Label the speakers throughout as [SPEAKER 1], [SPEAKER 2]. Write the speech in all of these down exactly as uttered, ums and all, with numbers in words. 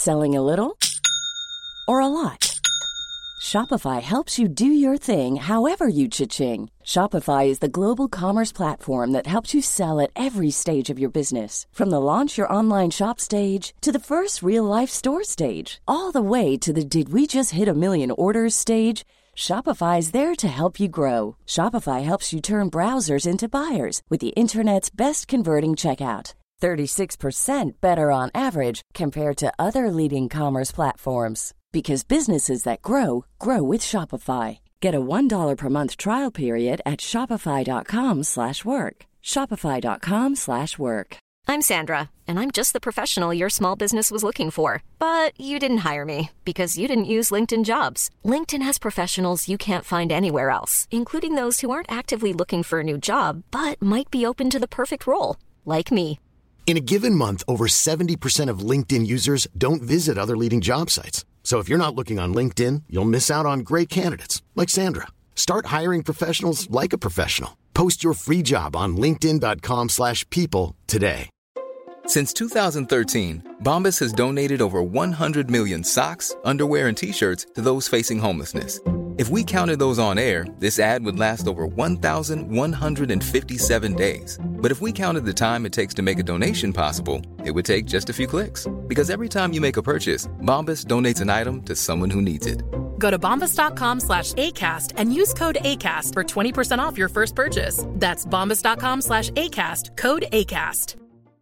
[SPEAKER 1] Selling a little or a lot? Shopify helps you do your thing however you cha-ching. Shopify is the global commerce platform that helps you sell at every stage of your business. From the launch your online shop stage to the first real-life store stage, all the way to the did we just hit a million orders stage. Shopify is there to help you grow. Shopify helps you turn browsers into buyers with the internet's best converting checkout. thirty-six percent better on average compared to other leading commerce platforms. Because businesses that grow, grow with Shopify. Get a one dollar per month trial period at shopify.com slash work. Shopify.com slash work.
[SPEAKER 2] I'm Sandra, and I'm just the professional your small business was looking for. But you didn't hire me because you didn't use LinkedIn Jobs. LinkedIn has professionals you can't find anywhere else, including those who aren't actively looking for a new job, but might be open to the perfect role, like me.
[SPEAKER 3] In a given month, over seventy percent of LinkedIn users don't visit other leading job sites. So if you're not looking on LinkedIn, you'll miss out on great candidates like Sandra. Start hiring professionals like a professional. Post your free job on linkedin.com slash people today.
[SPEAKER 4] Since two thousand thirteen, Bombas has donated over one hundred million socks, underwear, and T-shirts to those facing homelessness. If we counted those on air, this ad would last over one thousand one hundred fifty-seven days. But if we counted the time it takes to make a donation possible, it would take just a few clicks. Because every time you make a purchase, Bombas donates an item to someone who needs it.
[SPEAKER 5] Go to bombas.com slash ACAST and use code ACAST for twenty percent off your first purchase. That's bombas.com slash ACAST, code ACAST.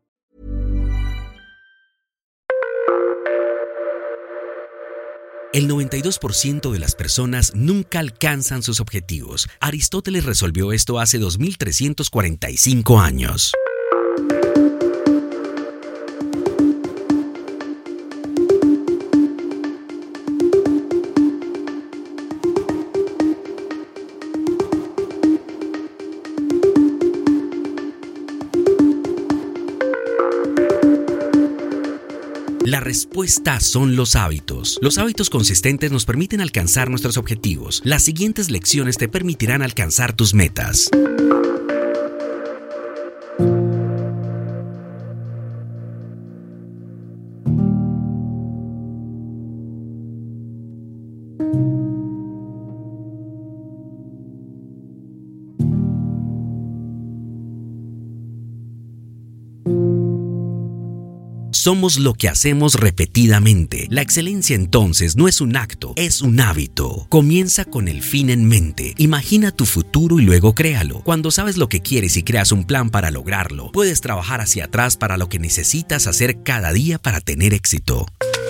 [SPEAKER 6] El noventa y dos por ciento de las personas nunca alcanzan sus objetivos. Aristóteles resolvió esto hace dos mil trescientos cuarenta y cinco años. La respuesta son los hábitos. Los hábitos consistentes nos permiten alcanzar nuestros objetivos. Las siguientes lecciones te permitirán alcanzar tus metas. Somos lo que hacemos repetidamente. La excelencia entonces no es un acto, es un hábito. Comienza con el fin en mente. Imagina tu futuro y luego créalo. Cuando sabes lo que quieres y creas un plan para lograrlo, puedes trabajar hacia atrás para lo que necesitas hacer cada día para tener éxito.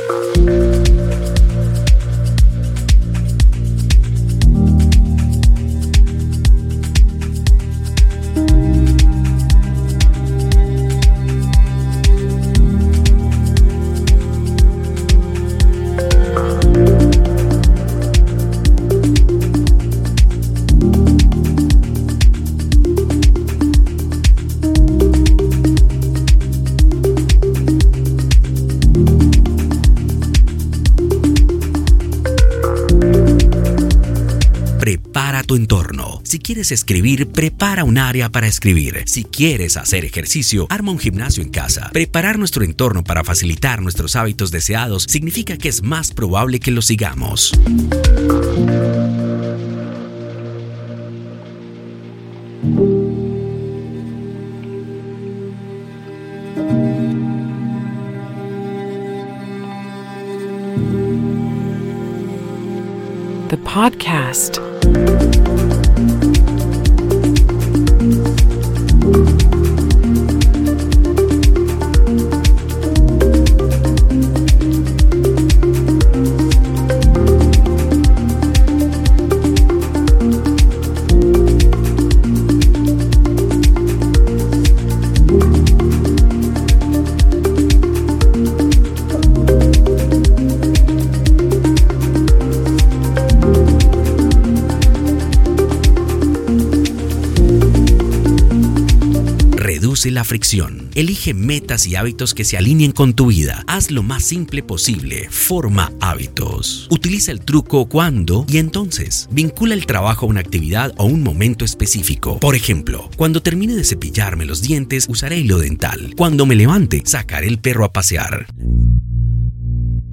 [SPEAKER 6] Prepara tu entorno. Si quieres escribir, prepara un área para escribir. Si quieres hacer ejercicio, arma un gimnasio en casa. Preparar nuestro entorno para facilitar nuestros hábitos deseados significa que es más probable que los sigamos.
[SPEAKER 7] The podcast.
[SPEAKER 6] La fricción. Elige metas y hábitos que se alineen con tu vida. Haz lo más simple posible. Forma hábitos. Utiliza el truco cuándo y entonces. Vincula el trabajo a una actividad o un momento específico. Por ejemplo, cuando termine de cepillarme los dientes, usaré hilo dental. Cuando me levante, sacaré el perro a pasear.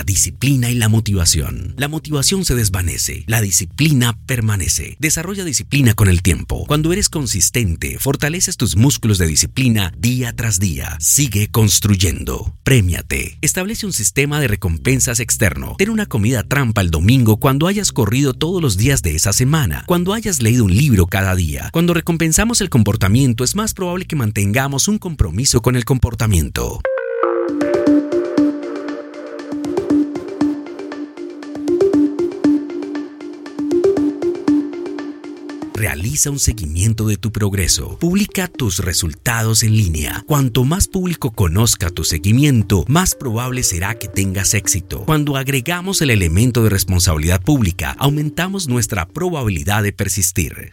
[SPEAKER 6] disciplina y la motivación. La motivación se desvanece, la disciplina permanece. Desarrolla disciplina con el tiempo. Cuando eres consistente, fortaleces tus músculos de disciplina día tras día. Sigue construyendo. Prémiate. Establece un sistema de recompensas externo. Ten una comida trampa el domingo cuando hayas corrido todos los días de esa semana. Cuando hayas leído un libro cada día. Cuando recompensamos el comportamiento, es más probable que mantengamos un compromiso con el comportamiento. Realiza un seguimiento de tu progreso. Publica tus resultados en línea. Cuanto más público conozca tu seguimiento, más probable será que tengas éxito. Cuando agregamos el elemento de responsabilidad pública, aumentamos nuestra probabilidad de persistir.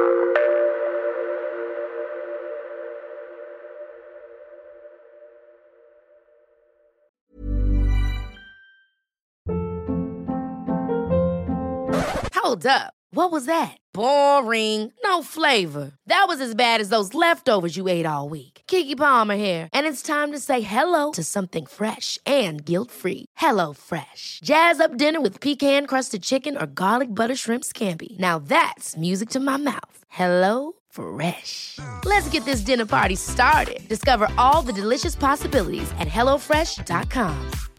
[SPEAKER 8] Hold up. What was that? Boring. No flavor. That was as bad as those leftovers you ate all week. Keke Palmer here, and it's time to say hello to something fresh and guilt-free. Hello Fresh. Jazz up dinner with pecan-crusted chicken or garlic butter shrimp scampi. Now that's music to my mouth. Hello Fresh. Let's get this dinner party started. Discover all the delicious possibilities at hello fresh dot com.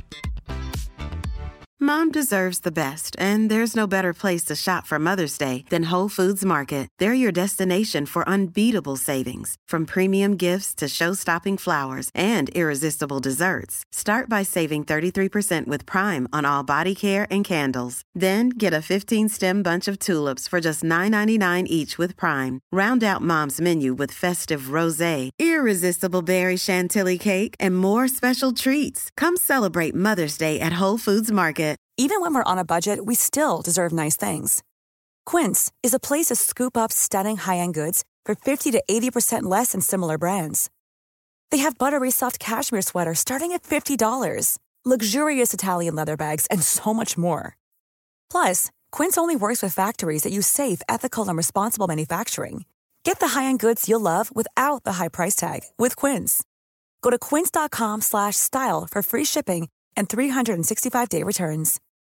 [SPEAKER 9] Mom deserves the best, and there's no better place to shop for Mother's Day than Whole Foods Market. They're your destination for unbeatable savings, from premium gifts to show-stopping flowers and irresistible desserts. Start by saving thirty-three percent with Prime on all body care and candles. Then get a fifteen-stem bunch of tulips for just nine ninety-nine each with Prime. Round out Mom's menu with festive rosé, irresistible berry chantilly cake, and more special treats. Come celebrate Mother's Day at Whole Foods Market.
[SPEAKER 10] Even when we're on a budget, we still deserve nice things. Quince is a place to scoop up stunning high-end goods for fifty to eighty percent less than similar brands. They have buttery soft cashmere sweaters starting at fifty dollars, luxurious Italian leather bags, and so much more. Plus, Quince only works with factories that use safe, ethical, and responsible manufacturing. Get the high-end goods you'll love without the high price tag with Quince. Go to quince dot com slash style for free shipping and three sixty-five day returns.